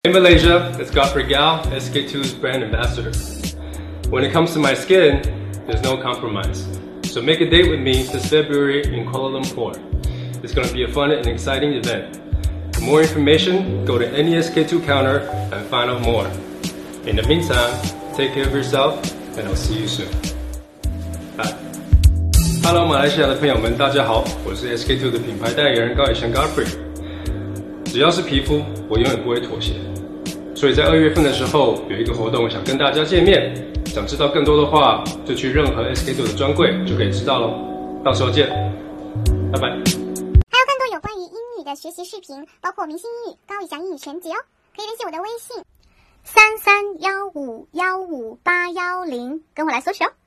In Malaysia, it's Godfrey Gao, SK2's brand ambassador. When it comes to my skin, there's no compromise. So make a date with me this February in Kuala Lumpur. It's going to be a fun and exciting event. For more information, go to any SK2 counter and find out more. In the meantime, take care of yourself, and I'll see you soon. Bye. Hello， 马来西亚的朋友们，大家好，我是 SK2 的品牌代言人高以翔 Godfrey。只要是皮肤，我永远不会妥协。所以在2月份的时候，有一个活动想跟大家见面。想知道更多的话，就去任何 SK2 的专柜就可以知道咯。到时候见，拜拜。 还有更多有关于英语的学习视频，包括明星英语、高以翔英语全集哦，可以联系我的微信3315155810，跟我来索取哦。